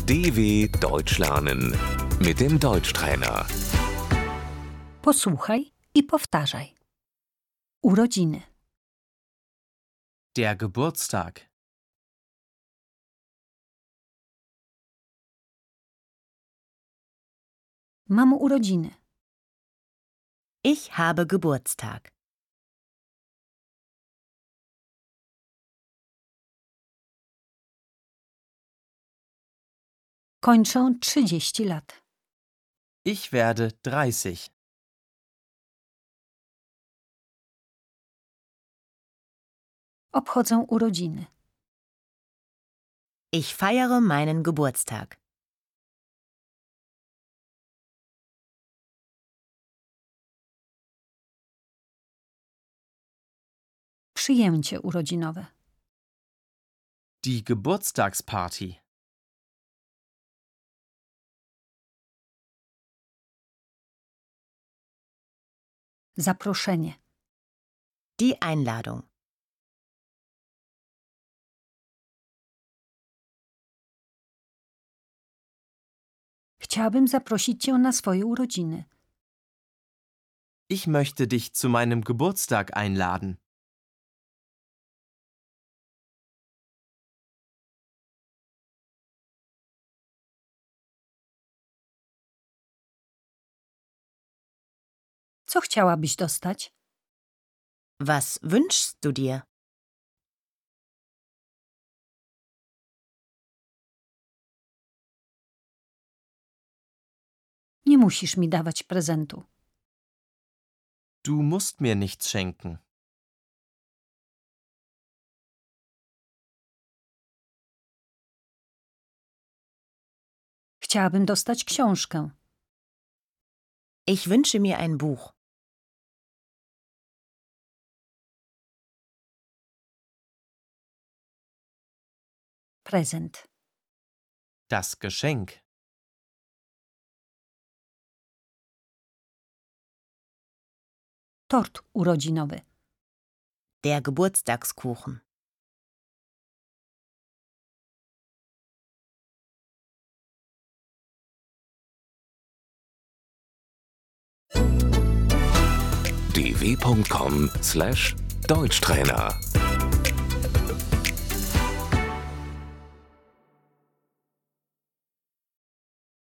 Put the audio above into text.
DW Deutsch lernen mit dem Deutschtrainer. Posłuchaj i powtarzaj. Urodziny. Der Geburtstag. Mam urodziny. Ich habe Geburtstag. Kończę 30 lat. Ich werde 30. Obchodzę urodziny. Ich feiere meinen Geburtstag. Przyjęcie urodzinowe. Die Geburtstagsparty. Zaproszenie. Die Einladung. Chciałabym zaprosić cię na swoje urodziny. Ich möchte dich zu meinem Geburtstag einladen. Co chciałabyś dostać? Was wünschst du dir? Nie musisz mi dawać prezentu. Du musst mir nichts schenken. Chciałabym dostać książkę. Ich wünsche mir ein Buch. Prezent. Das Geschenk. Tort urodzinowy. Der Geburtstagskuchen. dw.com/Deutschtrainer